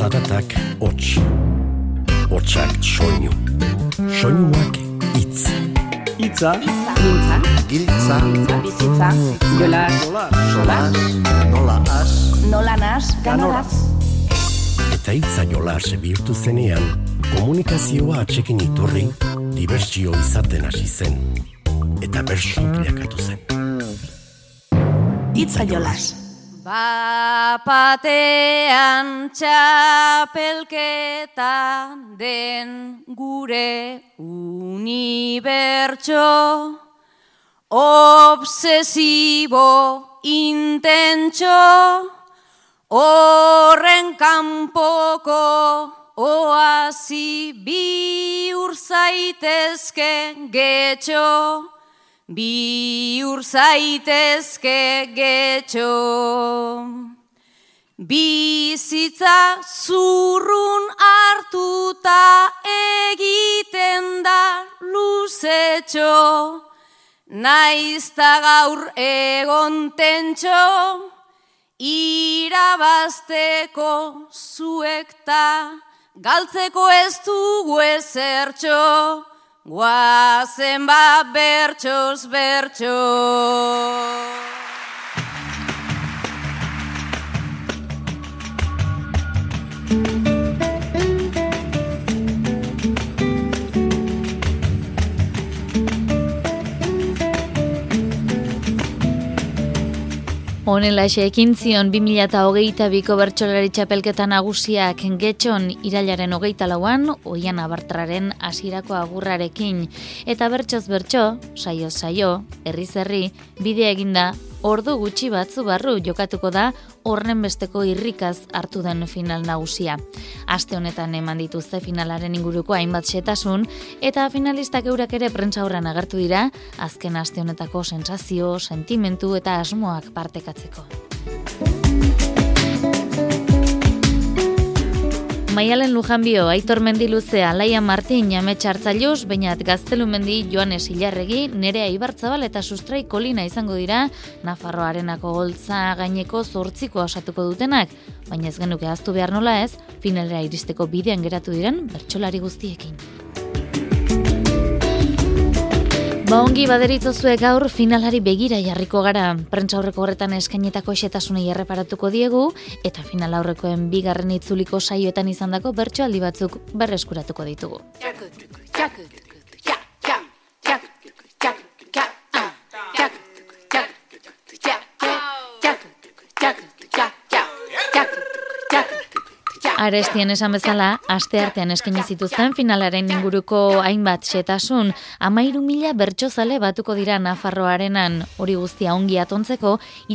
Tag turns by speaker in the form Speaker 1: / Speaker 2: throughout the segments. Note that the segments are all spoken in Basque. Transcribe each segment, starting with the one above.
Speaker 1: Zaratak hots, hotsak soinu, soinuak hitz.
Speaker 2: Hitza,
Speaker 3: Mintza,
Speaker 4: Giltza,
Speaker 3: bizitza, jolas,
Speaker 2: solas,
Speaker 4: nola has,
Speaker 3: nola nas, ganoraz.
Speaker 1: Eta hitza jolas bihurtu zenean, komunikazioa atsekin iturri, dibertsio izaten hasi zen, eta bersu bilakatu zen.
Speaker 3: Hitza jolas.
Speaker 5: Bapatean txapelketa den gure unibertso, obsesibo intentxo, horren kanpoko oasi bihur zaitezke getxo, bihur zaitezke getxo. Bizitza zurrun hartuta egiten da luzetxo, naizta gaur egon tentxo, irabazteko zuekta, galtzeko ez dugu ezertxo, guazen bat bertxoz bertxo.
Speaker 6: Honelaxe ekin zion 2022ko bertsolari txapelketa nagusiak Getxon irailaren 24an Oiana Bartraren hasierako agurrarekin. Eta bertsoz bertso, saioz saio, herriz herri, bidea eginda, ordu gutxi batzu barru jokatuko da horren besteko irrikaz hartu den final nagusia. Aste honetan eman dituzte finalaren inguruko hainbat xetasun, eta finalistak eurak ere prentsaurrean agertu dira, azken aste honetako sentsazio, sentimentu eta asmoak partekatzeko. Maialen Lujanbio, Aitor Mendiluzea, Laia Martin, Amets Artzailuz, Beñat Gaztelumendi, Joanes Ilarregi, Nerea Ibarzabal eta Sustrai Kolina izango dira Nafarroarenako goltza gaineko 8 osatuko dutenak, baina ez genuke ahaztu behar nola ez, finalera iristeko bidean geratu diren bertsolari guztiekin. Ongi baderitzozuek gaur finalari begira jarriko gara. Prentsaurreko horretan eskainetako xetasunei erreparatuko diegu, eta final aurrekoen bigarren itzuliko saioetan izandako bertsoaldi batzuk berreskuratuko ditugu. Arestien esan bezala, asteartean eskaini zituzten finalaren inguruko hainbat xetasun, 13.000 bertsozale batuko dira Nafarroarenan. Hori guztia ongi atontzeko,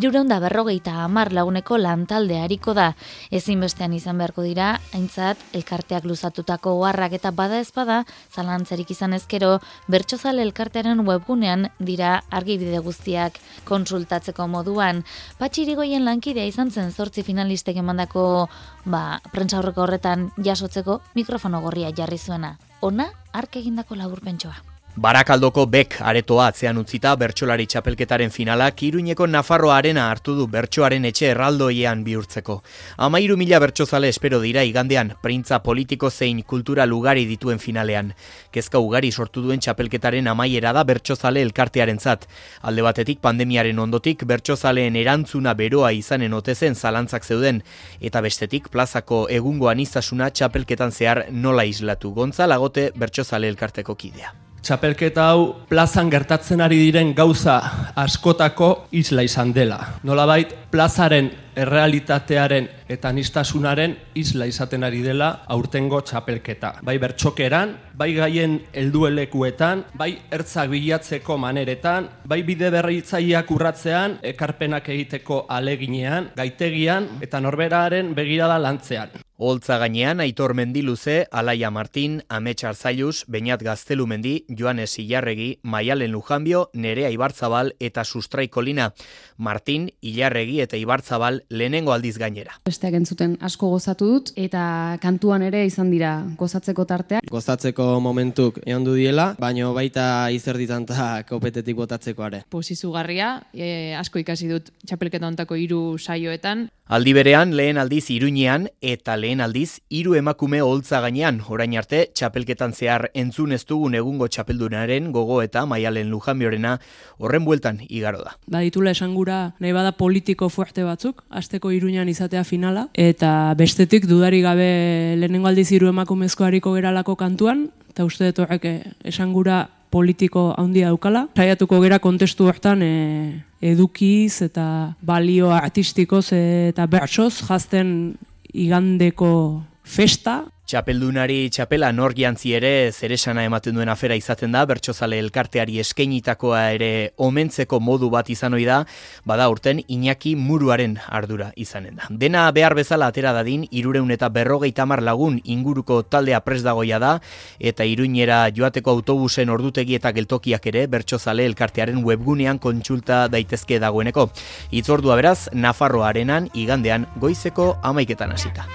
Speaker 6: 350 laguneko lantalde hariko da. Ezinbestean izan beharko dira, aintzat, elkarteak luzatutako oharrak eta bada ezpada, zalantzarik izan ezkero, bertsozale elkartearen webgunean dira argibide guztiak konsultatzeko moduan. Patxi Irigoyen lankidea izan zen 8 finalistek emandako prentsaurreko horretan jasotzeko mikrofono gorria jarri zuena. Ona, hark egindako laburpentsoa.
Speaker 7: Barakaldoko Bek aretoa atzean utzita bertsolari txapelketaren finalak Iruñeko Nafarroa Arena hartu du bertsoaren etxe erraldoiean bihurtzeko. 13.000 bertsozale espero dira igandean, printza politiko zein kultura ugari dituen finalean. Kezka ugari sortu duen txapelketaren amaiera da bertsozale elkartearentzat. Alde batetik pandemiaren ondotik bertsozaleen erantzuna beroa izanen ote zen zalantzak zeuden, eta bestetik plazako egungo aniztasuna txapelketan zehar nola islatu. Gontza Lagote bertsozale elkarteko kidea.
Speaker 2: Txapelketa hau plazan gertatzen ari diren gauza askotako isla izan dela. Nolabait, plazaren errealitatearen eta aniztasunaren isla izaten ari dela aurtengo txapelketa. Bai bertsokeran, bai gaien helduelekuetan, bai ertzak bilatzeko maneretan, bai bide berritzaileak urratzean, ekarpenak egiteko aleginean, gaitegian eta norberaren begirada lantzean.
Speaker 7: Holtza gainean Aitor Mendiluze, Alaia Martin, Amets Artzailuz, Beñat Gaztelumendi, Joanes Ilarregi, Maialen Lujanbio, Nerea Ibarzabal eta Sustrai Kolina. Martin, Ilarregi eta Ibarzabal lehenengo aldiz gainera.
Speaker 8: Besteak entzuten asko gozatu dut eta kantuan ere izan dira gozatzeko tarteak.
Speaker 9: Gozatzeko momentuk egon du diela, baina baita izerditan eta kopetetik botatzeko are.
Speaker 10: Izugarria, asko ikasi dut txapelketa hontako 3 saioetan.
Speaker 7: Aldi berean lehen aldiz Iruñean eta lehen aldiz, 3 emakume oholtza gainean, orain arte, txapelketan zehar entzun ez dugun egungo txapeldunaren gogo eta Maialen Lujanbiorena horren bueltan igaro da.
Speaker 10: Baditula esangura nahi bada politiko fuerte batzuk, asteko Iruñan izatea finala, eta bestetik dudari gabe lehenengo aldiz 3 emakumezko hariko geralako kantuan, eta uste dut horrek esangura politiko handia daukala. Saiatuko gera kontestu hortan edukiz eta balio artistikoz eta bertsoz jazten igandeko festa.
Speaker 7: Txapeldunari txapela nor jantzi ere zeresana ematen duen afera izaten da, bertsozale elkarteari eskainitakoa ere omentzeko modu bat izan ohi da, bada urten Iñaki Muruaren ardura izanen da. Dena behar bezala atera dadin, 350 lagun inguruko taldea prest dagoia da, eta Iruñera joateko autobusen ordutegi eta geltokiak ere bertsozale elkartearen webgunean kontsulta daitezke dagoeneko. Hitzordua beraz, Nafarroa Arenan igandean goizeko 11 hasita.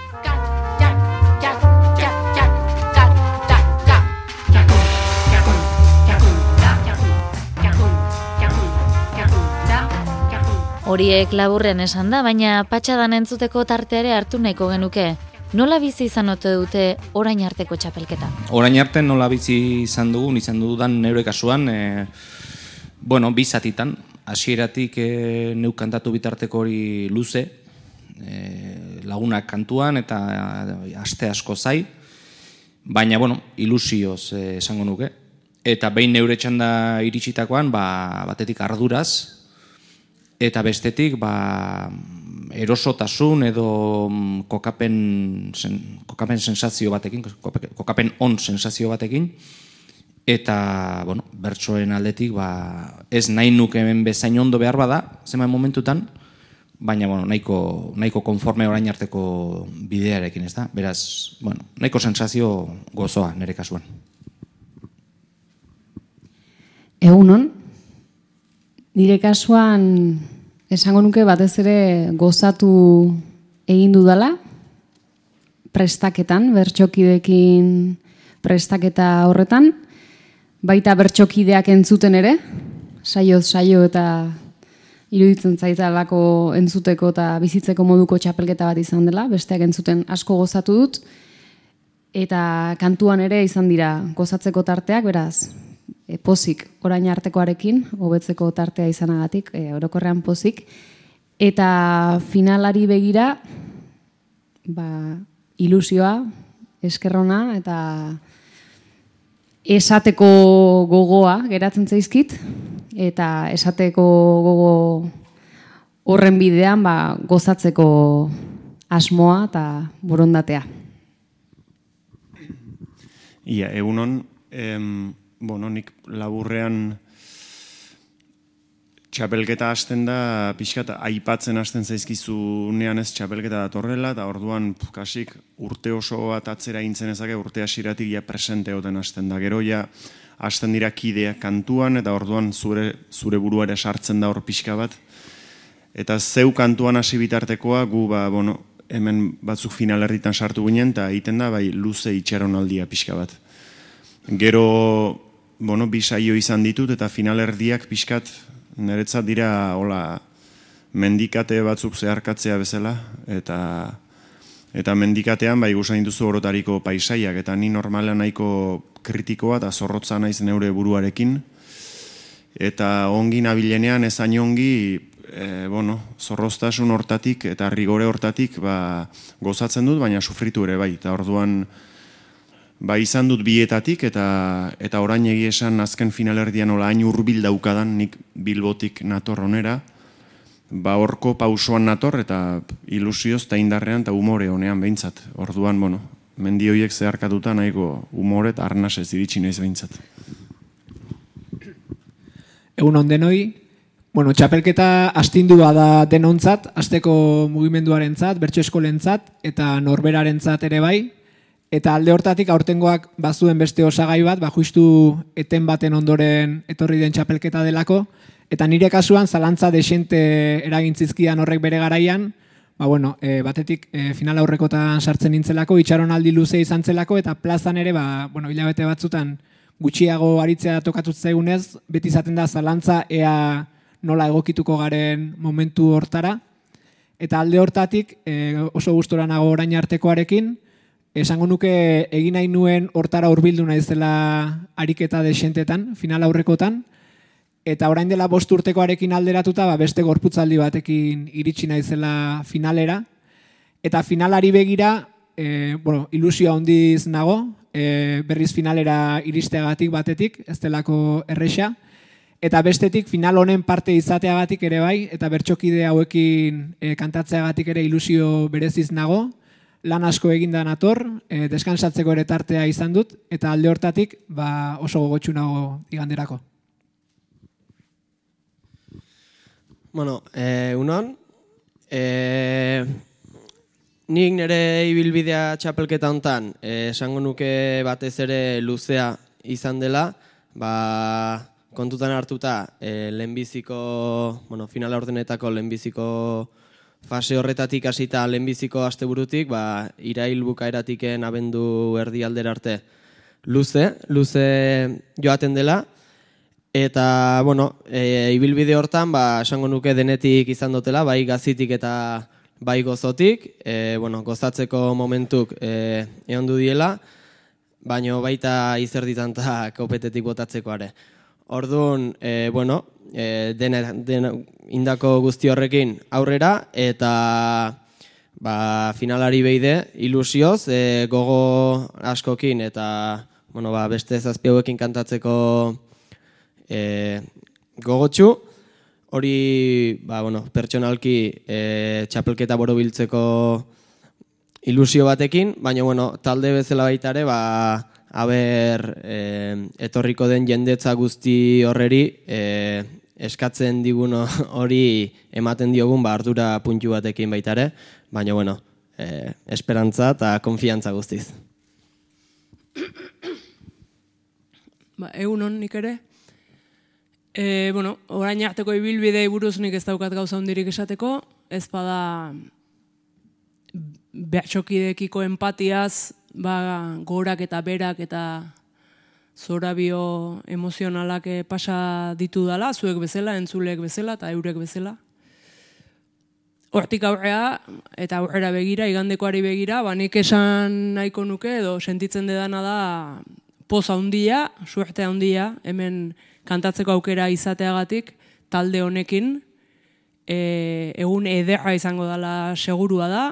Speaker 6: Horiek laburren esan da, baina patxadan entzuteko tarteare hartu nahiko genuke. Nola bizi izan ote dute orain arteko txapelketa?
Speaker 11: Orain arte nola bizi izan dudan neure kasuan, bi zatitan. Hasieratik neuk kantatu bitarteko hori luze, lagunak kantuan eta aste asko zai, baina ilusioz esango nuke. Eta behin neure txanda iritsitakoan, batetik arduraz, eta bestetik erosotasun edo kokapen sensazio batekin, kokapen on sensazio batekin, eta bertsoen aldetik ez nahi nuke hemen bezain ondo behar bada, zenbait momentutan, baina nahiko konforme orain arteko bidearekin, ez da? Beraz, nahiko sensazio gozoa nire kasuan.
Speaker 8: Egunon, nire kasuan esango nuke batez ere gozatu egin dudala, prestaketan, bertsokideekin prestaketa horretan, baita bertsokideak entzuten ere, saioz saio eta iruditzen zaitalako entzuteko eta bizitzeko moduko txapelketa bat izan dela, besteak entzuten asko gozatu dut, eta kantuan ere izan dira gozatzeko tarteak, beraz, pozik orain artekoarekin, hobetzeko tartea izanagatik, orokorrean pozik, eta finalari begira, ilusioa, eskerrona, eta esateko gogoa geratzen zaizkit, eta esateko gogo horren bidean gozatzeko asmoa eta borondatea.
Speaker 12: Ia, egunon, nik laburrean txapelketa hasten da, pixkat aipatzen hasten zaizkizunean ez txapelketa datorrela, eta orduan kasik urte oso bat atzera intzen ezake, urte hasiratik ja presente oten hasten da. Gero ja hasten dira kideak kantuan, eta orduan zure buruare sartzen da hor pixka bat. Eta zeu kantuan hasi bitartekoa, gu hemen batzuk finalerritan sartu ginen, eta egiten da luze itxaronaldia pixka bat. Gero, bi saio izan ditut, eta finalerdiak pixkat, niretzat dira, mendikate batzuk zeharkatzea bezala, eta mendikatean, gusain duzu orotariko paisaiak, eta ni normalean nahiko kritikoa, eta zorrotza naiz neure buruarekin, eta ongi nabilenean ezain ongi, zorroztasun hortatik, eta rigore hortatik, gozatzen dut, baina sufritu ere bai, eta orduan, izan dut bietatik, eta orain egia esan azken finalerdian hain hurbil daukadan, nik Bilbotik nator onera, horko pausoan nator, eta ilusioz eta indarrean eta umore honean behintzat. Orduan, mendi horiek zeharkatuta nahiko umore eta arnasez iritsi naiz behintzat.
Speaker 13: Egun ondenoi, txapelketa astindua da denontzat, asteko mugimenduarentzat, bertso eskolentzat, eta norberarentzat ere bai, eta alde hortatik aurtengoak bazuen beste osagai bat, justu eten baten ondoren etorri den txapelketa delako, eta nire kasuan zalantza desente eragintzizkian horrek bere garaian, batetik final aurrekotan sartzen nintzelako, itxaronaldi luze izan zelako, eta plazan ere, hilabete batzutan gutxiago aritzea tokatut zaigunez, beti izaten da zalantza ea nola egokituko garen momentu hortara, Eta alde hortatik oso gustora nago orain artekoarekin, esango nuke egin nahi nuen hortara hurbildu naizela ariketa desentetan, final aurrekotan, eta orain dela 5 urtekoarekin alderatuta beste gorputzaldi batekin iritsi naizela finalera, eta finalari begira ilusio handiz nago, berriz finalera iristeagatik batetik, ez delako erresa, eta bestetik final honen parte izateagatik ere bai, eta bertxokide hauekin kantatzeagatik ere ilusio bereziz nago, lan asko eginda nator, deskansatzeko ere tartea izan dut, eta alde hortatik oso gogotsu nago iganderako.
Speaker 9: Bueno, unon, nik nire ibilbidea txapelketa hontan, esango nuke batez ere luzea izan dela, kontutan hartuta lehenbiziko, finala ordenetako lehenbiziko fase horretatik hasita lehenbiziko asteburutik, irail bukaeratiken abendu erdi aldera arte luze joaten dela, eta, ibilbide hortan, esango nuke denetik izan dutela, bai gazitik eta bai gozotik, gozatzeko momentuk egon du diela, baina baita izerditan eta kopetetik botatzeko are. Orduan, indako guzti horrekin aurrera, eta finalari beide ilusioz, gogo askokin, eta beste 7 hauekin kantatzeko gogotsu, hori pertsonalki txapelketa borobiltzeko ilusio batekin, baina talde bezala baita ere, etorriko den jendetza guzti horreri eskatzen digun hori ematen diogun ardura puntu batekin baita ere, baina esperantza eta konfiantza guztiz.
Speaker 10: Egunon nik ere. Orain arteko ibilbidei buruz nik ez daukat gauza hondirik esateko, ez bada bertxokidekiko empatiaz, gorak eta berak eta zorabio emozionalak pasa ditu dala, zuek bezala, entzulek bezala eta eurek bezala. Hortik aurrea eta aurrera begira, igandekoari begira, nik esan nahiko nuke edo sentitzen dedana da poz handia, suerte handia, hemen kantatzeko aukera izateagatik, talde honekin, egun ederra izango dela segurua da,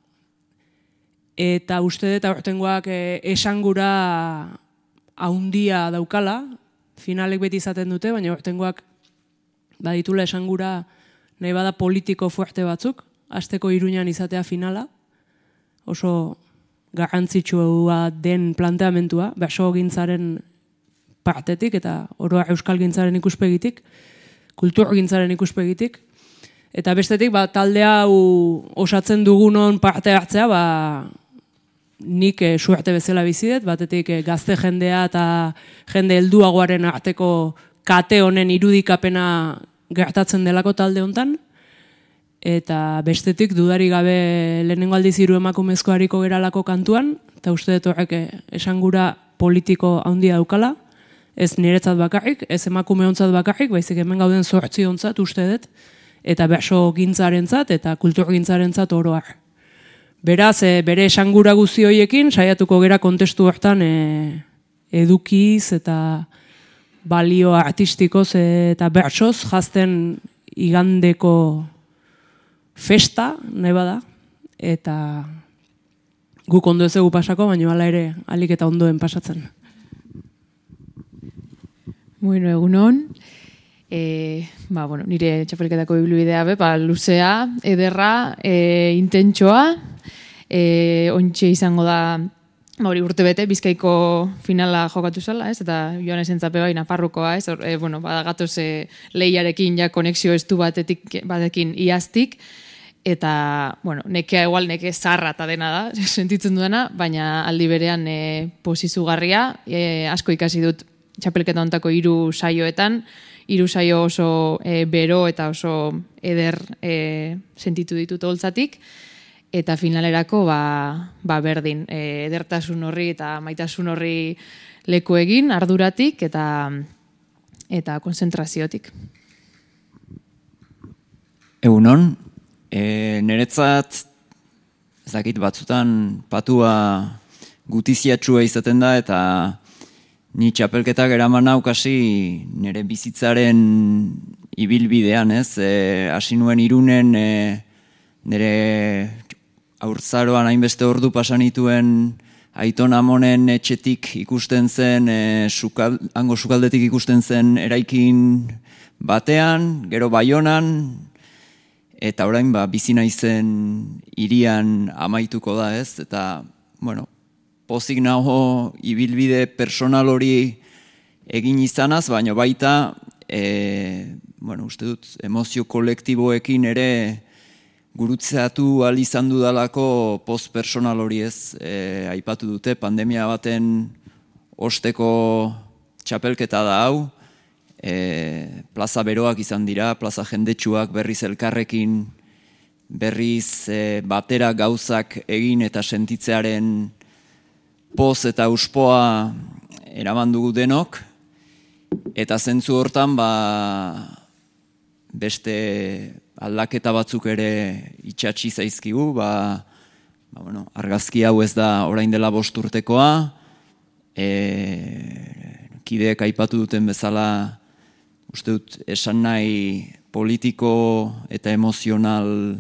Speaker 10: eta uste dut aurtengoak esangura handia daukala, finalek beti izaten dute, baina aurtengoak baditula esangura nahi bada politiko fuerte batzuk, asteko Iruñan izatea finala, oso garrantzitsua den planteamentua, baso gintzaren partetik eta oroa euskal gintzaren ikuspegitik, kultur gintzaren ikuspegitik, eta bestetik talde hau osatzen dugunon parte hartzea, nik suerte bezala bizidet, batetik gazte jendea eta jende helduagoaren arteko kate honen irudikapena gertatzen delako talde hontan, eta bestetik dudari gabe lehenengo aldiz hiru emakumezko hariko geralako kantuan, eta uste dut horrek esangura politiko handia daukala, ez niretzat bakarrik, ez emakume hontzat bakarrik, baizik hemen gauden 8 hontzat uste dut, eta berso gintzarentzat eta kultur gintzarentzat oroar. Beraz, bere esangura guzti horiekin, saiatuko gera kontestu hortan edukiz eta balio artistikoz eta bertsoz jazten igandeko festa, nahi bada, eta guk ondo ez egu pasako, baina hala ere alik eta ondoen pasatzen.
Speaker 8: Bueno, egunon. Nire txapelketako ibilbidea luzea, ederra, intentsoa, ontxe izango da urte bete, Bizkaiko finala jokatu zela, eta joan esentzape bai Nafarrokoa, gatoz lehiarekin ja konexio estu batekin iaztik, eta, nekea igual neke zarra eta dena da, sentitzen duena, baina aldi berean posizugarria, asko ikasi dut txapelketa hontako 3 saioetan, 3 saio oso bero eta oso eder sentitu ditut holtzatik, eta finalerako berdin, edertasun horri eta maitasun horri leku egin, arduratik eta konzentraziotik.
Speaker 14: Egunon, Niretzat, ez dakit batzutan patua gutiziatxua izaten da, eta ni txapelketak eraman naukasi nire bizitzaren ibilbidean, ez? Hasi nuen Irunen, nire haurtzaroan hainbeste ordu pasanituen Aiton Amonen etxetik ikusten zen, hango sukaldetik ikusten zen eraikin batean, gero Baionan, eta orain bizi naizen hirian amaituko da, ez? Eta, bueno, pozik nago ibilbide personal hori egin izanaz, baina baita, uste dut, emozio kolektiboekin ere gurutzeatu ahal izan dudalako post-personal hori, ez? Aipatu dute, pandemia baten osteko txapelketa da hau, plaza beroak izan dira, plaza jendetsuak berriz elkarrekin, berriz batera gauzak egin eta sentitzearen poz eta uspoa eraman dugu denok, eta zentzu hortan beste aldaketa batzuk ere itxatsi zaizkigu, argazki hau ez da orain dela 5 urtekoa, kideek aipatu duten bezala, uste dut esan nahi politiko eta emozional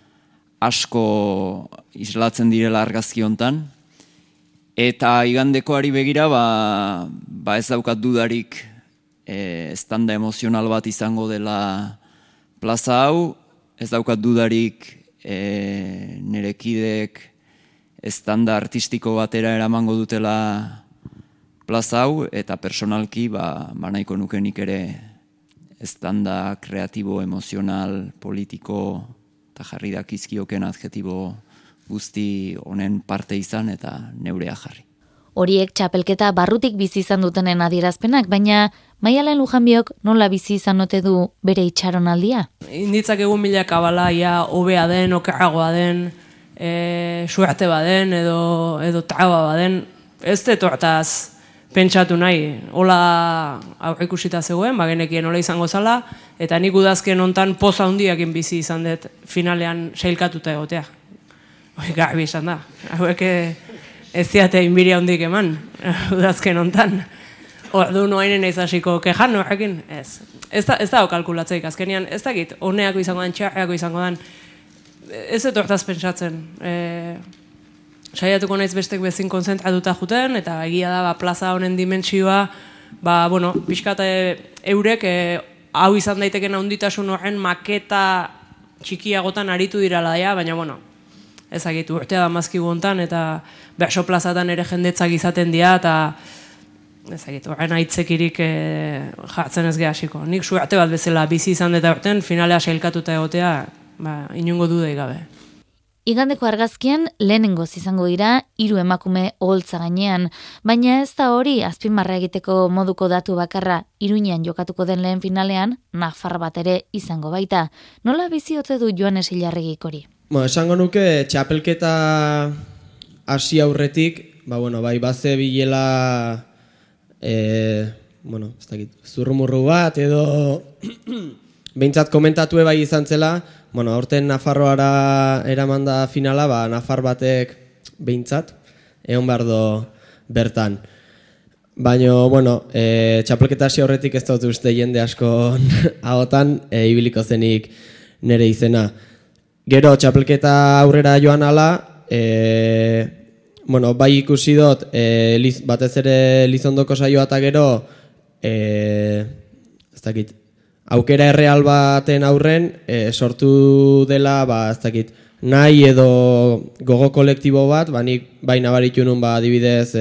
Speaker 14: asko islatzen direla argazki hontan, eta igandekoari begira ez daukat dudarik estanda emozional bat izango dela plaza hau, ez daukat dudarik nire kideek estanda artistiko batera eramango dutela plaza hau, eta personalki nahiko nukenik ere estanda kreatibo, emozional, politiko eta jarri dakizkioken adjetibo guzti honen parte izan eta neurea jarri.
Speaker 6: Horiek txapelketa barrutik bizi izan dutenen adierazpenak, baina Maialen Lujanbiok nola bizi izan ote du bere itxaronaldia?
Speaker 10: Inditzak egun milaka bala, hobea den, okerragoa den, suerte baden, edo traba baden, ez dut hortaz pentsatu nahi, hola aurreikusita zegoen, genekien hola izango zala, eta nik udazken hontan poza handiakin bizi izan dut finalean sailkatuta egotea. Garbi izan da, hauek ez ziate inbiria handik eman, udazken hontan. Ordu noainen ez hasiko kejan horrekin, ez. Ez dago kalkulatzeik, azkenian ez dakit, honeako izango den, txarreako izango den, ez dut hortaz pentsatzen. Saiatuko naiz bestek bezin konzentratuta juten, eta egia da plaza honen dimentsioa, pixkat eurek hau izan daiteken handitasun horren maketa txikiagotan aritu dirala daia, baina ezagit urtea da mazkigu hontan, eta berso plazatan ere jendetzak izaten dira, eta ezagit, horren aitzekirik jartzen ez gehasiko. Nik suerte bat bezala bizi izan deta horten, finalea sailkatuta egotea, inungo dudei gabe.
Speaker 6: Igandeko argazkian lehenengoz izango dira 3 emakume oholtza gainean, baina ez da hori azpimarra egiteko moduko datu bakarra. Iruñean jokatuko den lehen finalean, nafar bat ere izango baita. Nola bizi ote du Joanes Ilarregik hori?
Speaker 9: Esango nuke txapelketa hasi aurretik, baze bilela ez dakit, zurrumurru bat edo behintzat komentatu bai izan zela, aurten Nafarroara eramanda finala, Nafar batek behintzat, egon behar do bertan. Baina, txapelketa hasi horretik ez dut uste jende asko ahotan, ibiliko zenik nire izena. Gero, txapelketa aurrera joan ala, bai ikusi dut, batez ere Lizondoko saioa eta gero, ez dakit, aukera erreal baten aurren sortu dela, ez dakit, nahi edo gogo kolektibo bat, nik bai nabaritu nun adibidez,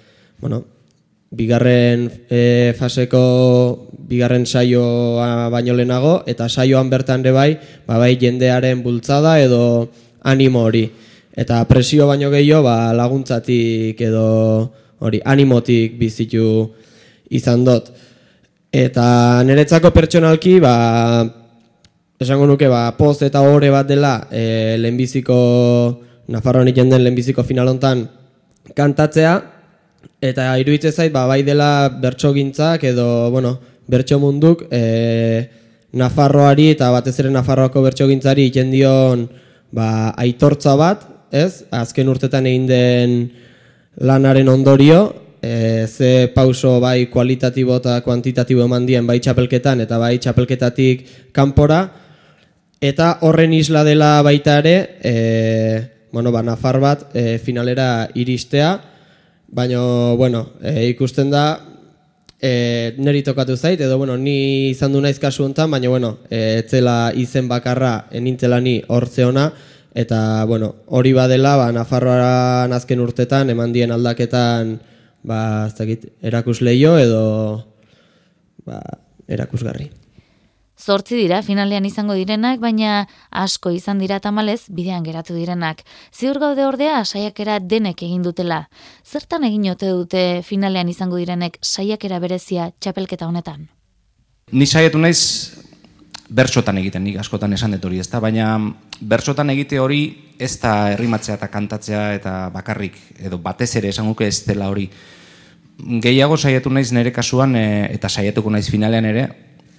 Speaker 9: bigarren faseko bigarren saioa baino lehenago, eta saioan bertan ere bai jendearen bultzada edo animo hori. Eta presio baino gehiago laguntzatik edo hori animotik bizitu izan dut. Eta niretzako pertsonalki, esango nuke, poz eta ohore bat dela lehenbiziko, Nafarroan egiten den lehenbiziko final hontan kantatzea, eta iruditzen zait, bai dela bertsogintzak edo, bertso munduk Nafarroari eta batez ere Nafarroako bertsogintzari egiten dion aitortza bat, ez? Azken urtetan egin den lanaren ondorio, ze pauso bai kualitatibo eta kuantitatibo eman dien bai txapelketan eta bai txapelketatik kanpora, eta horren isla dela baita ere, Nafar bat finalera iristea, baina, ikusten da, niri tokatu zait, edo, ni izan du naiz kasu honetan, baina, etzela izen bakarra enintzela ni hortze ona, eta, hori badela, Nafarroaren azken urtetan, eman dien aldaketan, erakusleio edo erakusgarri.
Speaker 6: 8 dira finalean izango direnak, baina asko izan dira tamalez bidean geratu direnak. Ziur gaude ordea saiakera denek egin dutela. Zertan egin ote dute finalean izango direnek saiakera berezia txapelketa honetan?
Speaker 11: Ni saiatu naiz bertsotan egiten, nik askotan esan dut hori, ezta, baina bertsotan egite hori ez da errimatzea eta kantatzea eta bakarrik, edo batez ere esan guke ez dela hori. Gehiago saiatu naiz nire kasuan, eta saiatuko naiz finalean ere,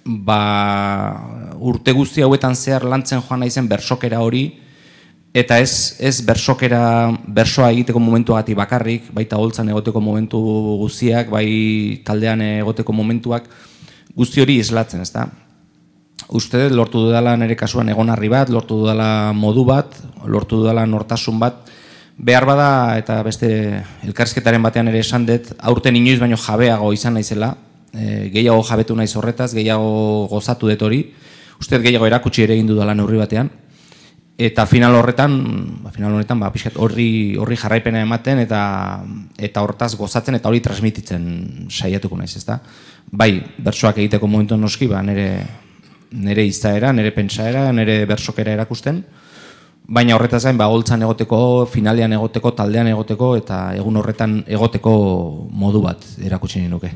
Speaker 11: urte guzti hauetan zehar lantzen joan naizen bersokera hori, eta ez bersoa egiteko momentuagatik bakarrik, baita holtzan egoteko momentu guztiak, bai taldean egoteko momentuak, guzti hori islatzen, ezta? Uste lortu dudala nire kasuan egonarri bat, lortu dudala modu bat, lortu dudala nortasun bat, behar bada eta beste elkarrizketaren batean ere esan dut, aurten inoiz baino jabeago izan naizela, gehiago jabetu naiz horretaz, gehiago gozatu dut hori, uste gehiago erakutsi ere egin dudala neurri batean, eta final honetan, pixkat horri jarraipena ematen eta hortaz gozatzen eta hori transmititzen saiatuko naiz, ezta? Bai, bertsoak egiteko momentu noski, nire izaera, nire pentsaera, nire bersokera erakusten, baina horretaz gain, holtzan egoteko, finalean egoteko, taldean egoteko, eta egun horretan egoteko modu bat erakutsi nuke.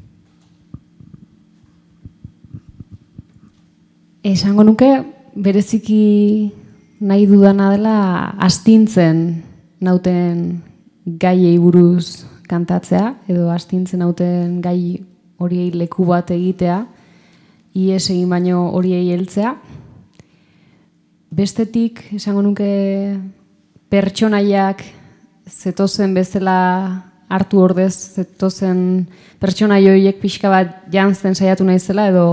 Speaker 8: Esango nuke, bereziki nahi dudana dela astintzen nauten gaiei buruz kantatzea, edo astintzen nauten gai horiei leku bat egitea, ies egin baino horiei heltzea. Bestetik, esango nuke, pertsonaiak zetozen bezala hartu ordez, zetozen pertsonai horiek pixka bat jantzen saiatu naizela, edo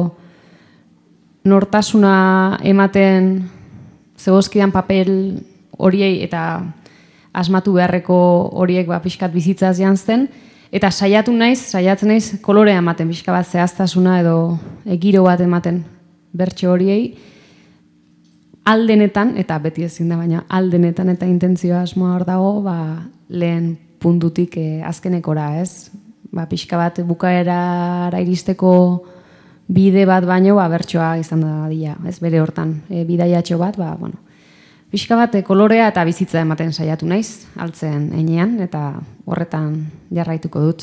Speaker 8: nortasuna ematen zegozkidan papel horiei eta asmatu beharreko horiek pixkat bizitzaz jantzen, eta saiatzen naiz kolorea ematen, pixka bat zehaztasuna edo giro bat ematen bertso horiei, aldenetan, eta beti ezin da, baina aldenetan eta intentzioa asmoa hor dago, lehen puntutik azkenekora, ez? Pixka bat bukaerara iristeko bide bat baino, bertsoa izan da dira, ez bere hortan, bidaiatxo bat, pixka bat kolorea eta bizitza ematen saiatu naiz, altzen heinean, eta horretan jarraituko dut.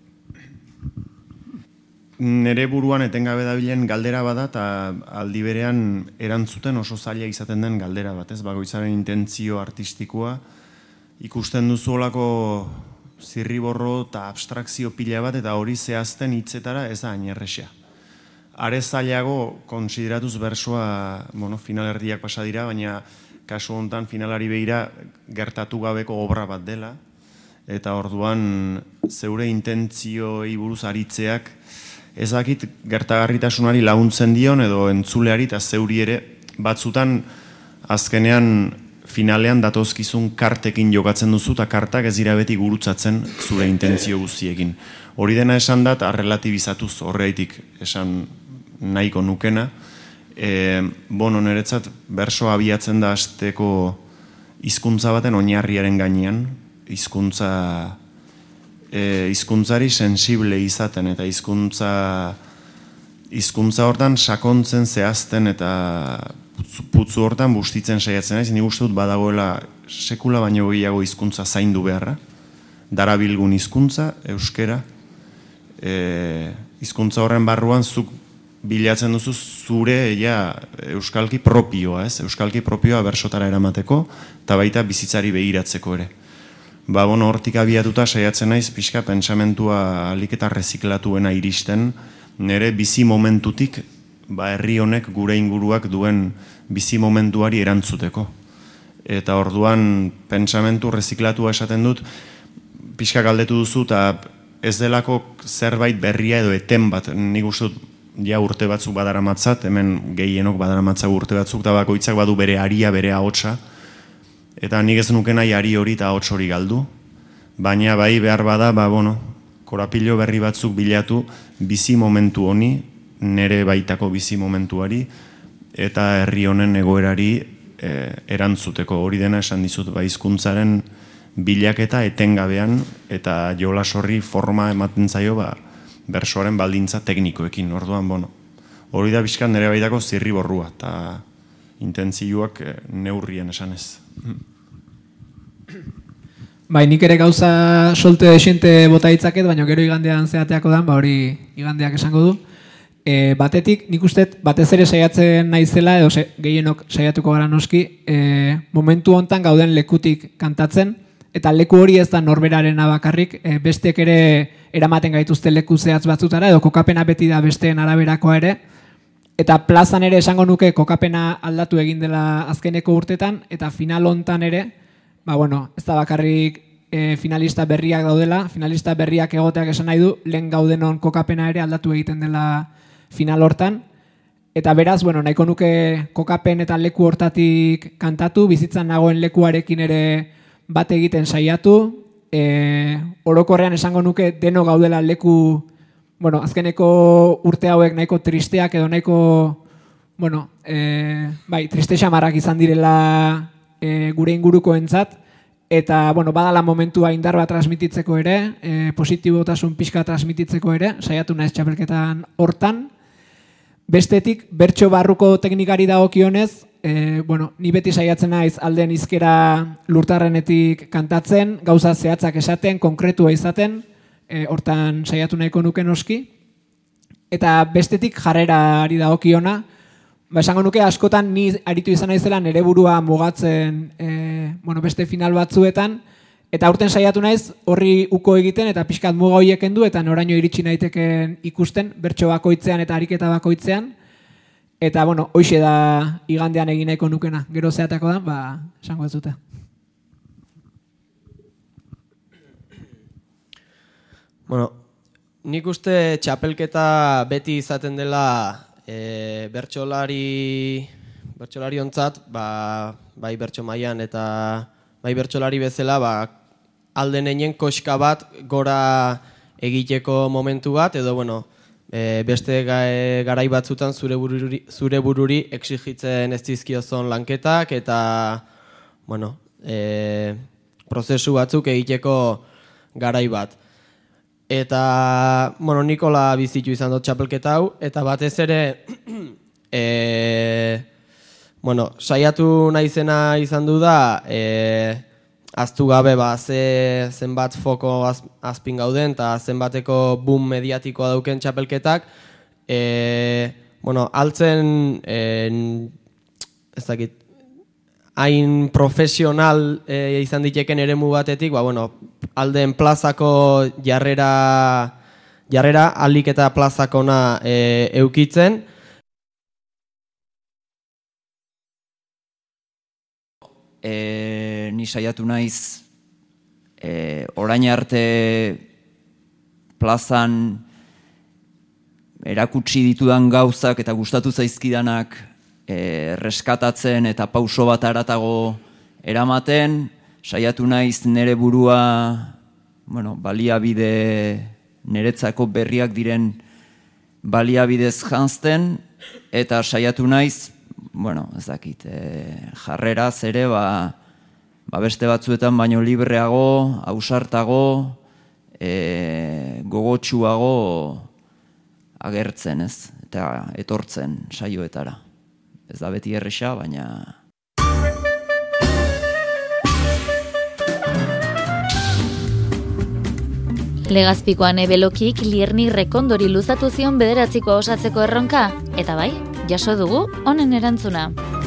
Speaker 12: Nere buruan etengabe dabilen galdera bada, eta aldi berean erantzuten oso zaila izaten den galdera bat, ez? Bakoitzaren intentzio artistikoa, ikusten duzu olako zirriborro eta abstrakzio pila bat, eta hori zehazten hitzetara ez da hain errexea. Are zailago konsideratuz bersoa, finalerdiak pasa dira, baina kasu honetan finalari behira gertatu gabeko obra bat dela, eta orduan zeure intentzioi buruz aritzeak ezakit gertagarritasunari laguntzen dion edo entzuleari eta zeuri ere batzutan azkenean finalean datozkizun kartekin jokatzen duzu eta kartak ez dira beti gurutzatzen zure intentzio guztiekin. Hori dena esan dat, arrelatibizatuz horreitik esan nahiko nukena. Niretzat bersoa abiatzen da hasteko hizkuntza baten oinarriaren gainean, hizkuntzari sensible izaten eta hizkuntza hortan sakontzen zehazten eta putzu hortan bustitzen saiatzen naiz. Nik uste dut badagoela sekula baino gehiago hizkuntza zaindu beharra, darabilgun hizkuntza, euskera, hizkuntza horren barruan zuk bilatzen duzu zure euskalki propioa, ez? Euskalki propioa bersotara eramateko eta baita bizitzari begiratzeko ere. Hortik abiatuta saiatzen naiz pixka pentsamentua alik eta reziklatuena iristen, nire bizi momentutik herri honek gure inguruak duen bizi momentuari erantzuteko. Eta orduan pentsamentu reziklatua esaten dut, pixka galdetu duzu, eta ez delako zerbait berria edo eten bat, nik uste dut ja urte batzuk badaramatzat, hemen gehienok badaramatzagu urte batzuk, eta bakoitzak badu bere aria, bere ahotsa, eta nik ez nuke nahi ari hori eta ahots hori galdu, baina bai behar bada, korapilo berri batzuk bilatu bizi momentu honi, nere baitako bizi momentuari, eta herri honen egoerari erantzuteko. Hori dena esan dizut, hizkuntzaren bilaketa etengabean, eta jolas horri forma ematen zaio bersoaren baldintza teknikoekin. Orduan, hori da bizkat nere baitako zirriborrua, eta intentzioak neurrien esanez.
Speaker 13: Bai, nik ere gauza solte desente bota ditzaket, baina gero igandean zeateako dan, hori igandeak esango du. Batetik, nik uste, batez ere saiatzen naizela, edo gehienok saiatuko gara noski, momentu hontan gauden lekutik kantatzen, eta leku hori ez da norberaren bakarrik, besteek ere eramaten gaituzte leku zehatz batzutara, edo kokapena beti da besteen araberakoa ere, eta plazan ere esango nuke kokapena aldatu egin dela azkeneko urtetan, eta final hontan ere, ez da bakarrik finalista berriak daudela, finalista berriak egoteak esan nahi du, lehen gaudenon kokapena ere aldatu egiten dela final hortan, eta beraz, nahiko nuke kokapen eta leku hortatik kantatu, bizitzan nagoen lekuarekin ere bat egiten saiatu, orokorrean esango nuke deno gaudela leku, azkeneko urte hauek nahiko tristeak edo nahiko, triste xamarrak izan direla gure ingurukoentzat, eta badala momentua indar bat transmititzeko ere, positibotasun pixka transmititzeko ere, saiatu naiz txapelketan hortan. Bestetik, bertso barruko teknikari dagokionez, ni beti saiatzen naiz alden hizkera lurtarrenetik kantatzen, gauza zehatzak esaten, konkretua izaten, hortan saiatu nahiko nuke noski. Eta bestetik jarrerari dagokiona, esango nuke askotan ni aritu izan naizela nere burua mugatzen beste final batzuetan, eta aurten saiatu naiz horri uko egiten eta pixkat muga horiek kendu eta noraino iritsi naiteken ikusten bertso bakoitzean eta ariketa bakoitzean. Eta hoixe da igandean egin nahiko nukena. Gero zehatako da, esango ez dute.
Speaker 9: Nik uste txapelketa beti izaten dela bertsolari ontzat, bai bertso mailan eta bai bertsolari bezala, alden einen koska bat gora egiteko momentu bat, edo beste garai batzutan zure bururi exigitzen ez dizkiozon lanketak, eta prozesu batzuk egiteko garai bat. Eta, Nikola bizitu izan dut txapelketa hau, eta batez ere, saiatu naizena izan du da, aztu gabe zenbat foko azpin gauden, eta zenbateko boom mediatikoa dauken txapelketak, altzen, ez dakit, hain profesional izan diteken eremu batetik, alden plazako jarrera alik eta plazakona eukitzen.
Speaker 14: Ni saiatu naiz orain arte plazan erakutsi ditudan gauzak eta gustatu zaizkidanak reskatatzen eta pauso bat haratago eramaten, saiatu naiz nere burua baliabide niretzako berriak diren baliabidez janzten, eta saiatu naiz ez dakit, jarreraz ere, beste batzuetan baino libreago, ausartago, gogotsuago agertzen, ez? Eta etortzen saioetara. Ez da beti erresa, baina...
Speaker 6: Legazpikoan ebelokik Lierni Rekondori luzatu zion bederatzikoa osatzeko erronka, eta bai, jaso dugu honen erantzuna.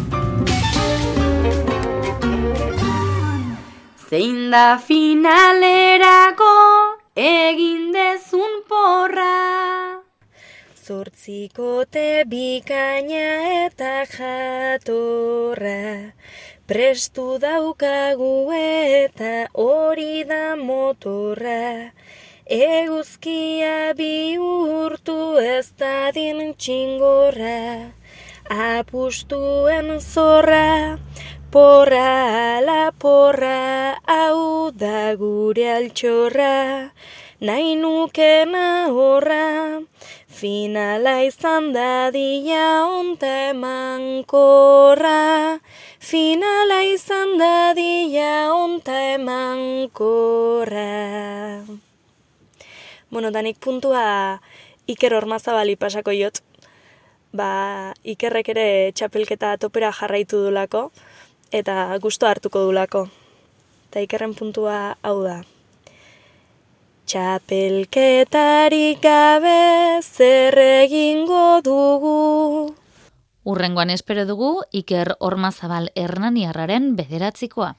Speaker 3: Zein da finalerako egin dezun porra,
Speaker 15: zortzikote bikaina eta jatorra, prestu daukagu eta hori da motorra, eguzkia bihurtu ez dadin txingorra, apustuen zorra, porra ala porra, hau da gure altxorra, nahi nukena horra, finala izan dadila onta emankorra, finala izan dadila onta emankorra. Bueno, danik puntua Iker Ormazabali pasako jot. Ikerrek ere txapelketa topera jarraitu dulako, eta gusto hartuko dulako. Eta Ikerren puntua hau da. Txapelketarik gabe zer egingo dugu.
Speaker 6: Hurrengoan espero dugu Iker Ormazabal Hernaniarraren 9.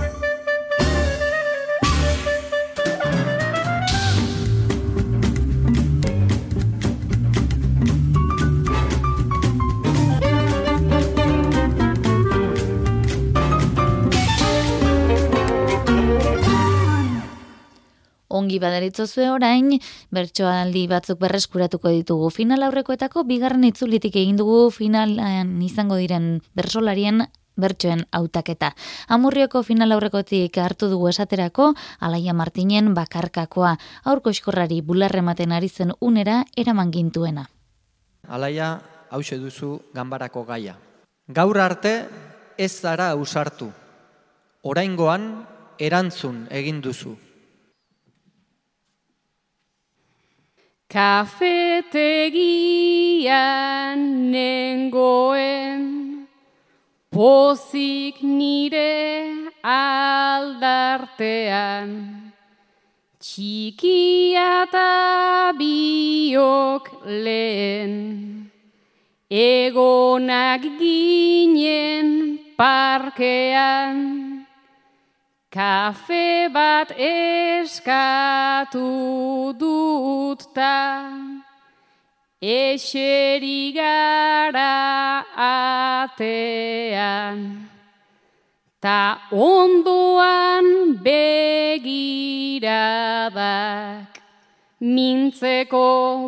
Speaker 6: Ongi baderitzozue orain, bertsoaldi batzuk berreskuratuko ditugu. Final aurrekoetako bigarren itzulitik egin dugu finalan izango diren bersolarien bertsoen hautaketa. Amurrioko final aurrekotik hartu dugu esaterako, Alaia Martinen bakarkakoa, aurko eskorrari bularre ematen ari zen unera eraman gintuena.
Speaker 16: Alaia, hauxe duzu ganbarako gaia. Gaur arte ez zara ausartu. Oraingoan erantzun egin duzu.
Speaker 17: Kafetegian nengoen, pozik nire aldartean, txikia eta biok lehen, egonak ginen parkean, kafe bat eskatu dut ta, eseri gara atean, ta ondoan begiradak, mintzeko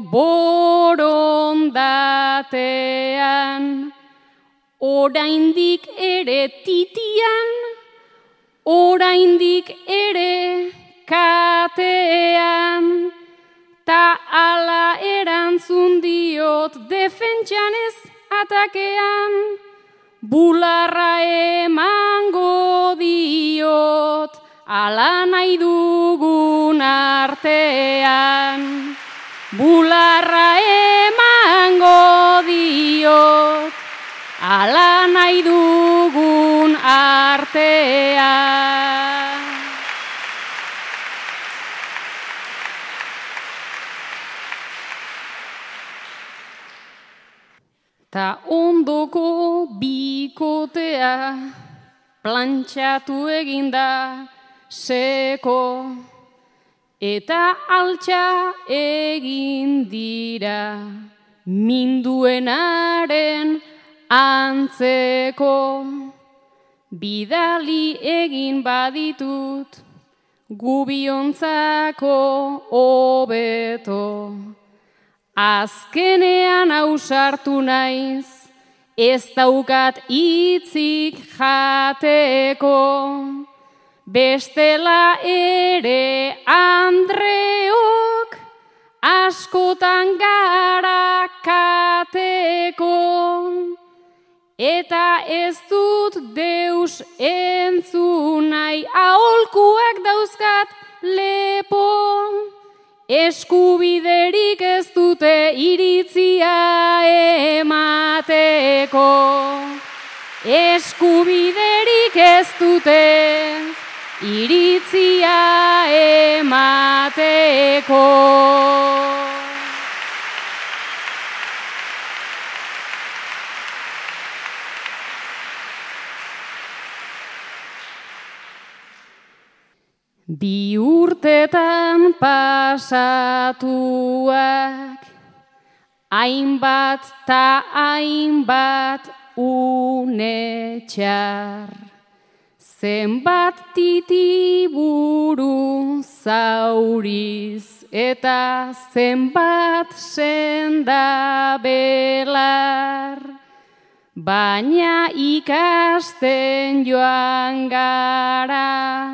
Speaker 17: borondatean, oraindik ere titian, oraindik ere katean, ta ala erantzun diot defentsan ez atakean, bularra emango diot ala nahi dugun artean, bularra emango diot ala nahi dugun artean. Ta ondoko bikotea plantxatu eginda seko, eta altxa egin dira minduenaren antzeko. Bidali egin baditut gubiontzako hobeto, azkenean ausartu naiz, ez daukat hitzik jateko, bestela ere andreok askotan gara kateko, eta ez dut deus entzun nahi, aholkuak dauzkat lepo, eskubiderik ez dute iritzia emateko, eskubiderik ez dute iritzia emateko. Bi urtetan pasatuak hainbat ta hainbat une txar. Zenbat titiburu zauriz eta zenbat senda belar, baina ikasten joan gara,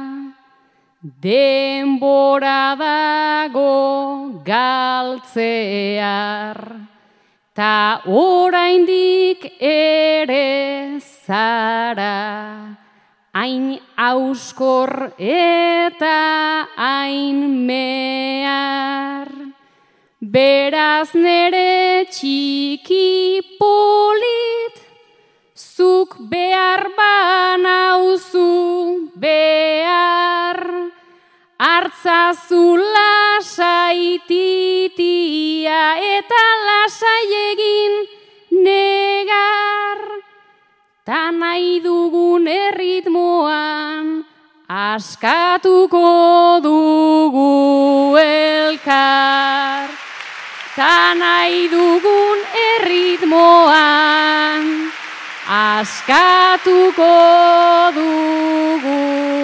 Speaker 17: denbora dago galtzear, ta oraindik ere zara, hain auskor eta hain mehar. Beraz nere txiki polit, zuk behar banauzu behar, hartzazu lasai titia eta lasai egin negar, ta nahi dugun erritmoan askatuko dugu elkar. Ta nahi dugun erritmoan askatuko dugu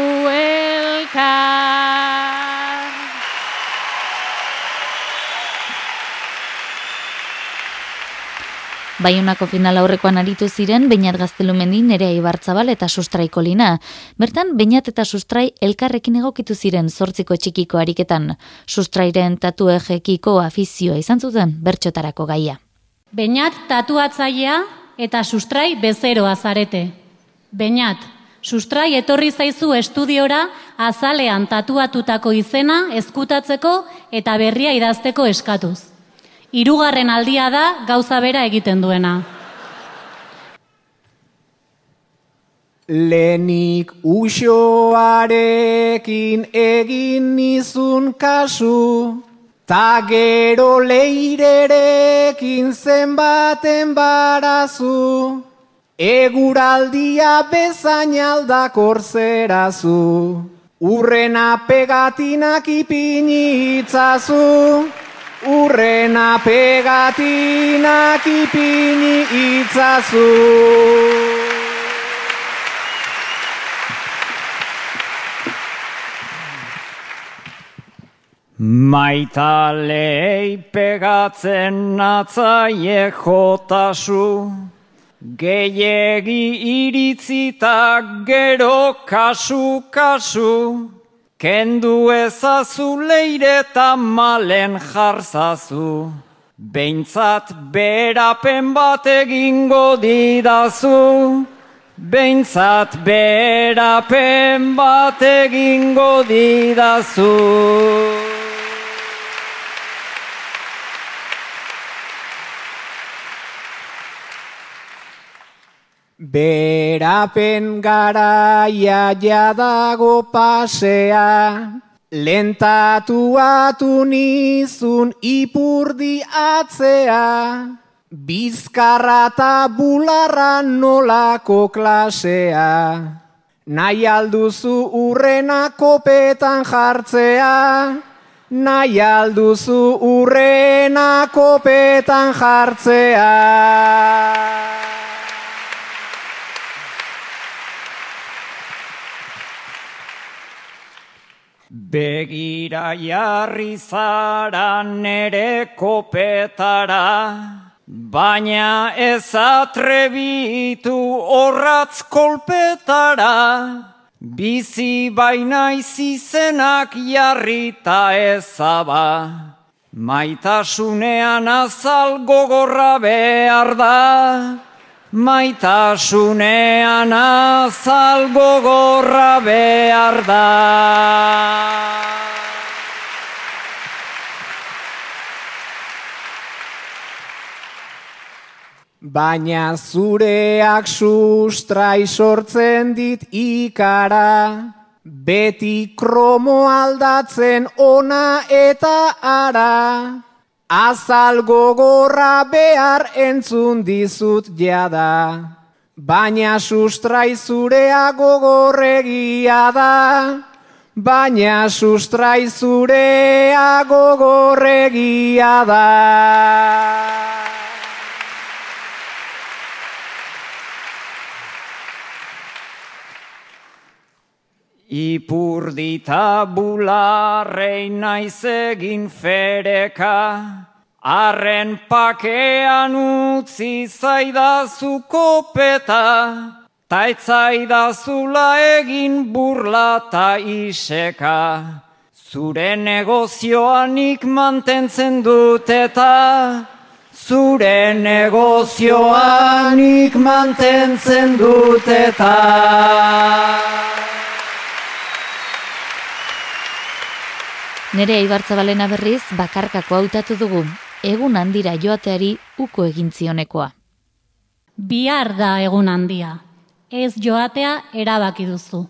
Speaker 17: elkar.
Speaker 6: Baionako final aurrekoan aritu ziren Beñat Gaztelumendi, Nerea Ibarzabal eta Sustrai Kolina. Bertan, Beñat eta Sustrai elkarrekin egokitu ziren 8 txikiko ariketan. Sustrairen tatuejekiko afizioa izan zuten bertsotarako gaia.
Speaker 18: Beñat tatuatzailea eta Sustrai bezeroa zarete. Beñat, Sustrai etorri zaizu estudiora azalean tatuatutako izena ezkutatzeko eta berria idazteko eskatuz. 3. aldia da gauza bera egiten duena.
Speaker 13: Lenik uxoarekin egin nizun kasu, ta gero leirerekin zenbaten barazu, eguraldia bezain aldakor zerazu, urrena pegatinak ipini itzazu, urrena pegatinak ipini itzazu.
Speaker 19: Maitalei pegatzen natzaie jotasu, gehiegi iritzitak gero kasu-kasu, kendu ezazu leireta malen jarzazu, behintzat berapen bat egingo didazu, behintzat berapen bat egingo didazu.
Speaker 13: Berapen garaia jadago pasea, lentatuatu nizun ipurdi atzea, bizkarra eta bularra nolako klasea, nahi alduzu urrena kopetan jartzea, nahi alduzu urrena kopetan jartzea.
Speaker 19: Begira jarri zara nere kopetara, baina ez atrebitu horratz kolpetara, bizi baina izizenak jarrita ezaba, maitasunean azal gogorra behar da, maitasunean azal gogorra behar da.
Speaker 13: Baina zureak sustrai sortzen dit ikara, beti kromo aldatzen ona eta ara, azal gogorra behar entzun dizut jada, baina sustrai zurea gogorregia da, baina sustrai zurea gogorregia da.
Speaker 19: Ipurdita bularrei naiz egin fereka, arren pakean utzi zaidazu kopeta, ta etzaidazula egin burla ta iseka. Zure negozioanik mantentzen dut eta, zure negozioanik mantentzen dut eta.
Speaker 6: Nerea Ibartzabalena berriz bakarkako hautatu dugu, egun handira joateari uko egin zionekoa.
Speaker 18: Bihar da egun handia, ez joatea erabaki duzu.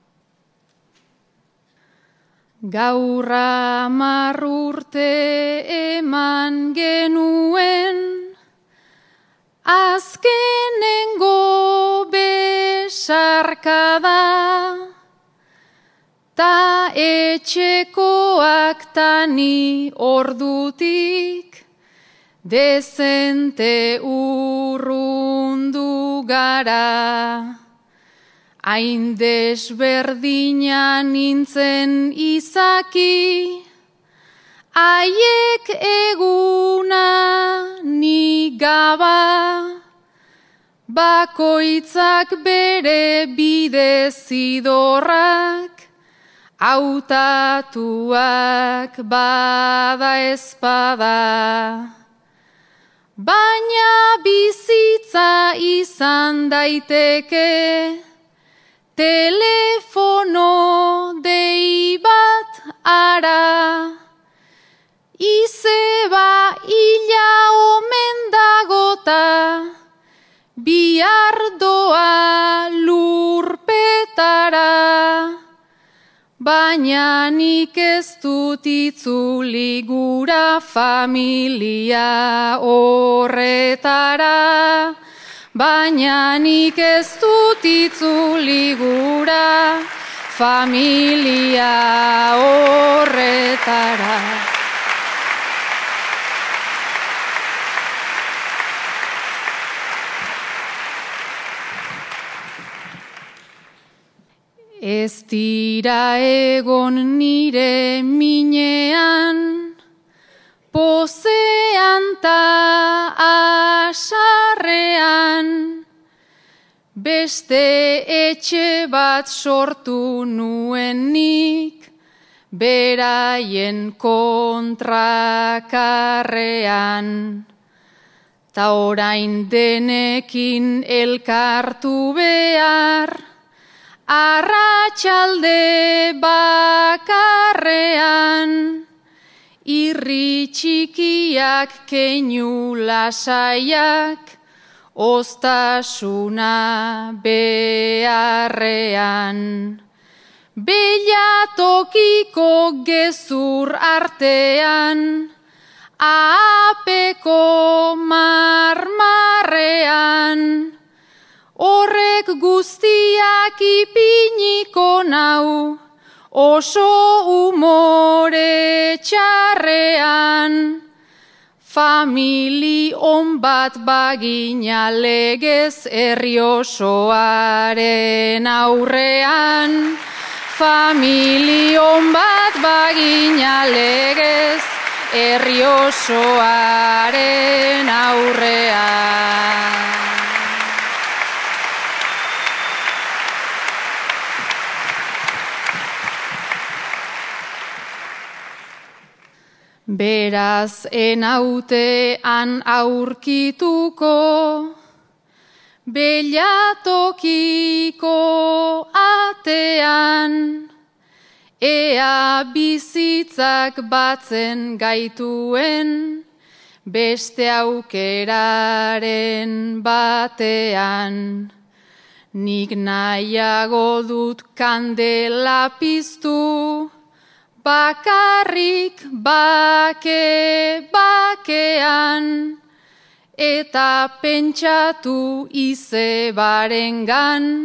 Speaker 17: Gaur 10 urte eman genuen, azkenengo besarkada, ta etxekoak tani ordutik, dezente urrundu gara. Hain desberdina nintzen izaki, haiek eguna ni gaba, bakoitzak bere bide zidorrak, hautatuak bada ezpada. Baina bizitza izan daiteke, telefono dei bat ara, izeba ila omen dagota, bihar doa lurpetara. Baina nik ez dut itzuli gura familia horretara. Baina nik ez dut itzuli gura familia horretara. Ez dira egon nire minean, pozean ta asarrean, beste etxe bat sortu nuen nik, beraien kontrakarrean. Ta orain denekin elkartu behar, arratsalde bakarrean, irri txikiak keinu lasaiak, ostasuna beharrean. Belatokiko gezur artean, apeko marmarrean, horrek guztiak ipiniko nau, oso umore txarrean. Famili on bat bagina legez herri osoaren aurrean. Famili on bat bagina legez herri osoaren aurrean. Beraz enautean aurkituko, belatokiko atean, ea bizitzak batzen gaituen, beste aukeraren batean. Nik nahiago dut kandela piztu, bakarrik bakean, eta pentsatu izebarengan,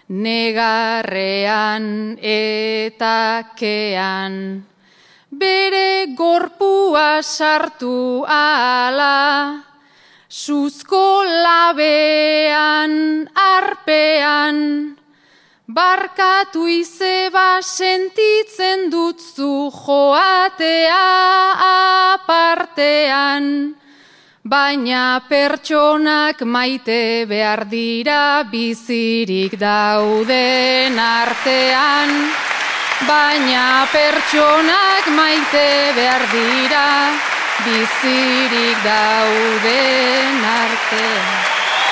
Speaker 17: negarrean eta kean. Bere gorpua sartu ala, suzko labean arpean, Barkatu izeba sentitzen dut zu joatea apartean, baina pertsonak maite behar dira bizirik dauden artean. Baina pertsonak maite behar dira bizirik dauden artean.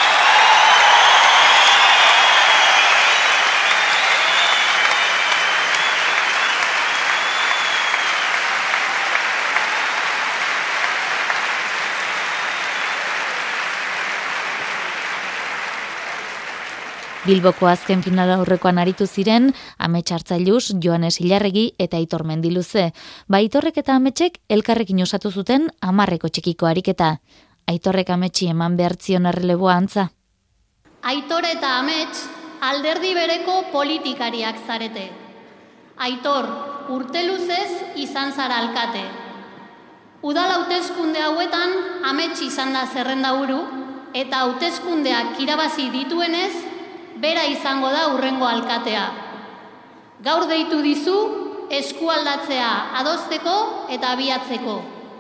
Speaker 6: Bilboko azken finala aurrekoan aritu ziren Amets Hartzailuz, Joanes Ilarregi eta Aitor Mendiluze. Aitorrek eta Ametsek elkarrekin osatu zuten 10 txikiko ariketa. Aitorrek Ametsi eman behartzion erreleboa antza.
Speaker 20: Aitor eta Amets alderdi bereko politikariak zarete. Aitor, urte luzez izan zara alkate. Udal hauteskunde hauetan Amets izan da zerrendaburu eta hauteskundeak irabazi dituenez bera izango da hurrengo alkatea. Gaur deitu dizu eskualdatzea adosteko eta abiatzeko.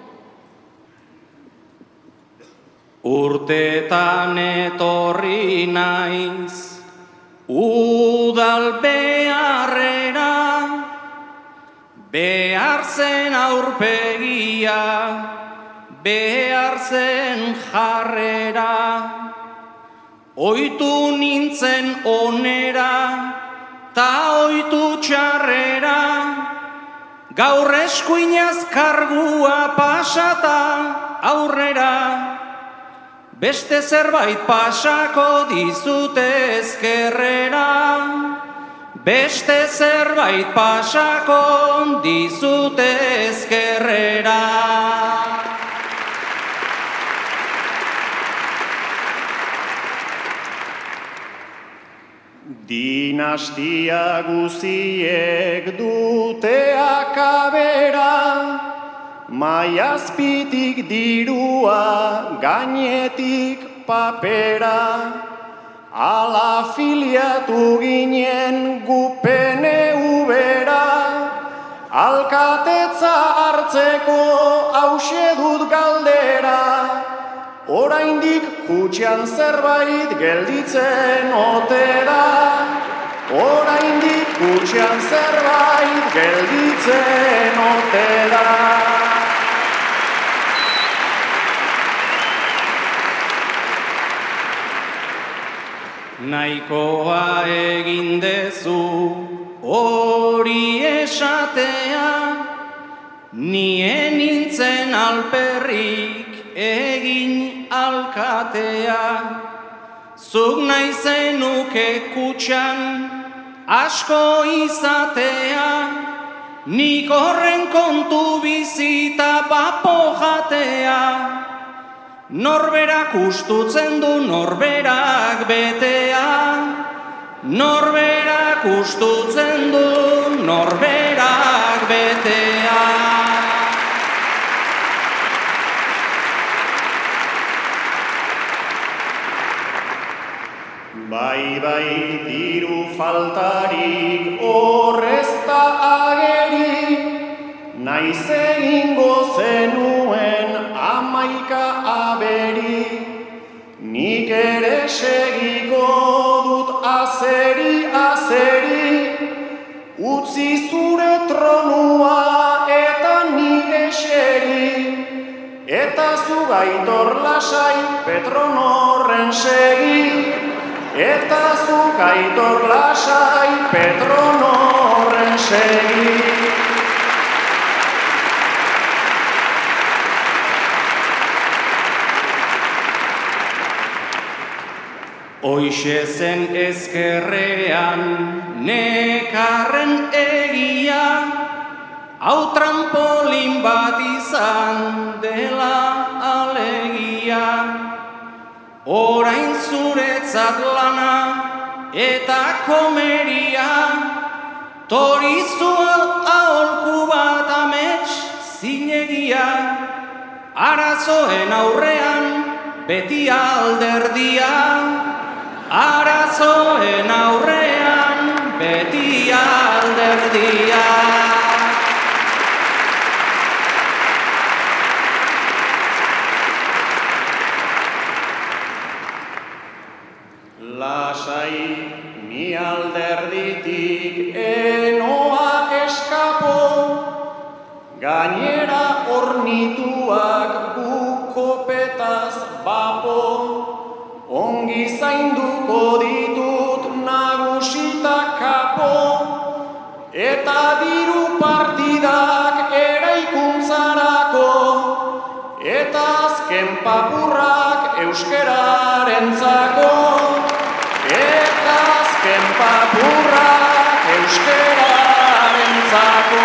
Speaker 11: Urtetan etorri naiz udal beharrera, behar zen aurpegia, behar zen jarrera. Oitu nintzen onera, ta oitu txarrera, gaur eskuinaz kargua pasata aurrera. Beste zerbait pasako dizute ezkerrera, beste zerbait pasako dizute ezkerrera.
Speaker 12: Dinastia guziek dute akabera, maiazpitik dirua, gainetik papera. Ala filiatu ginen gupene ubera, alkatetza hartzeko hause dut galdera. Oraindik kutxean zerbait gelditzen ote da, oraindik kutxean zerbait gelditzen ote da.
Speaker 11: Nahikoa egin dezu hori esatea, nien nintzen alperrik egin alkatea. Zuk nahi zenuke kutxan asko izatea, nik horren kontu bizita papo jatea. Norberak ustutzen du norberak betea, norberak ustutzen du norberak betea.
Speaker 12: Bai, diru faltarik horrezta ageri, naiz egingo zenuen 11 aberi. Nik ere segiko dut azeri, utzi zure tronua eta nire xeri, eta zu Aitor lasai Petronorren segi. Eta zuk Aitor lasai Petronorren segi.
Speaker 11: Hoixe zen ezkerrean nekarren egia, hau trampolin bat izan dela alegia. Orain zuretzat lana eta komeria, torizu aholku bat Amets zinegia. Arazoen aurrean beti alderdia, arazoen aurrean
Speaker 9: beti alderdia. Lasai ni alderditik enoa eskapo, gainera ornituak bukopetaz bapo, ongi zainduko ditut nagusita kapo, eta diru partidak eraikuntzarako, eta azken papurrak euskerarentzako, eta azken papurrak euskerarentzako.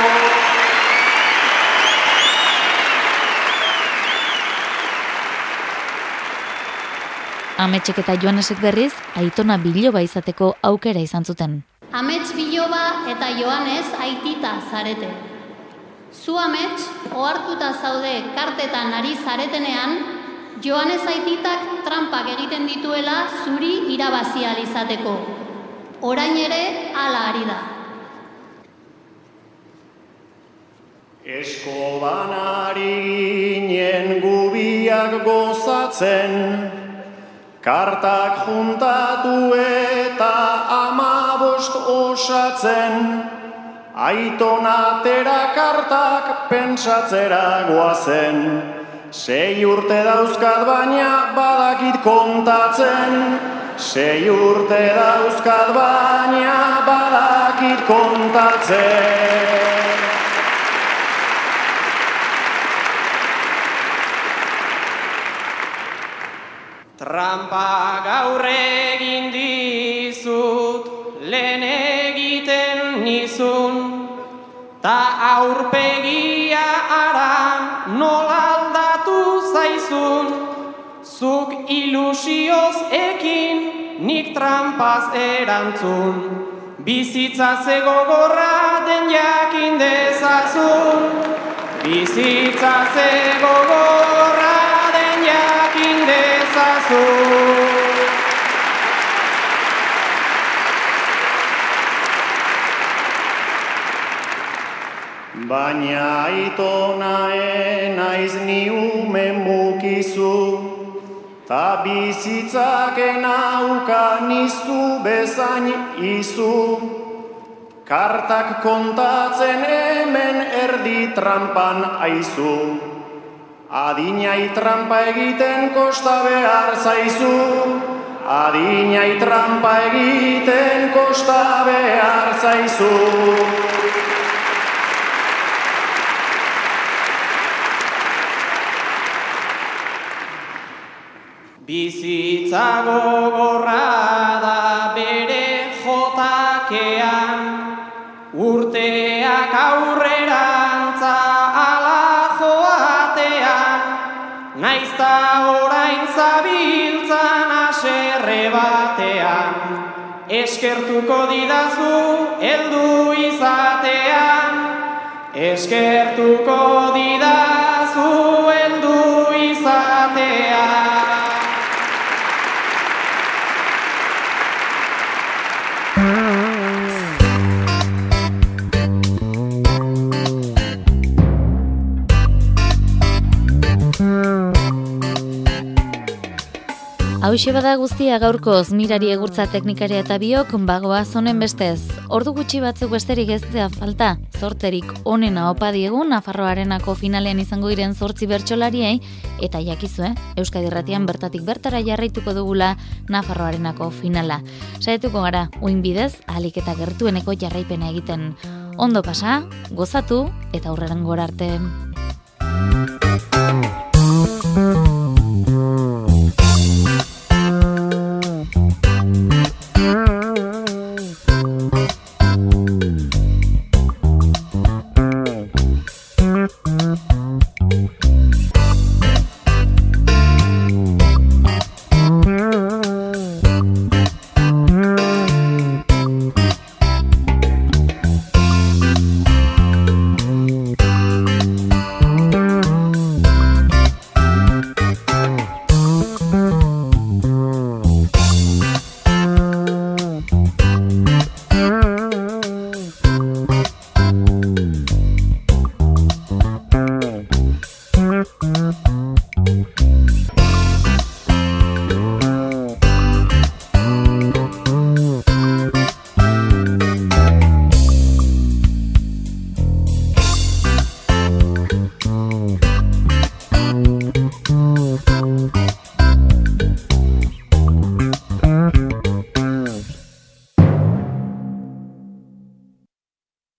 Speaker 6: Ametsek eta Joanesek berriz, Aitona biloba izateko aukera izan zuten.
Speaker 20: Amets biloba eta Joanes aitita zarete. Zu amets, ohartuta zaude kartetan ari zaretenean, Joanes aititak trampak egiten dituela zuri irabazi ahal izateko. Orain ere hala ari da.
Speaker 12: Eskoban ari ginen gubiak gozatzen, kartak juntatu eta 15 osatzen, Aitonatera kartak pentsatzera goazen. 6 urte dauzkat baina badakit kontatzen, 6 urte dauzkat baina badakit kontatzen.
Speaker 9: Trampa gaur egin dizut, lehen egiten nizun, ta aurpegia ara nola aldatu zaizun, zuk ilusioz ekin, nik trampaz erantzun, bizitza ze gogorra den jakin dezazun, bizitza ze gogorra den jakin dezazun.
Speaker 12: Baina Aitona enaiz ni ume mukizu, ta bizitzak enauka nizu bezain izu. Kartak kontatzen hemen erdi trampan aizu, adinai trampa egiten kosta behar zaizu, adinai trampa egiten kosta behar zaizu.
Speaker 9: Bizitza gogorra da bere jotakean, urteak aurrerantza ala joatean, naizta orain zabiltzan haserre batean, eskertuko didazu heldu izatean, eskertuko didazu heldu izatean.
Speaker 6: Hauxe bada guztia gaurkoz, Mirari Egurtza teknikaria eta biok bagoaz honen bestez. Ordu gutxi batzuk besterik ez da falta, zorterik onena opa diegu Nafarroarenako finalean izango diren 8 bertsolariei, eta jakizue, Euskadi Irratian bertatik bertara jarraituko dugula Nafarroarenako finala. Saietuko gara, uin bidez, ahalik eta gertueneko jarraipena egiten. Ondo pasa, gozatu eta aurrerangora arte.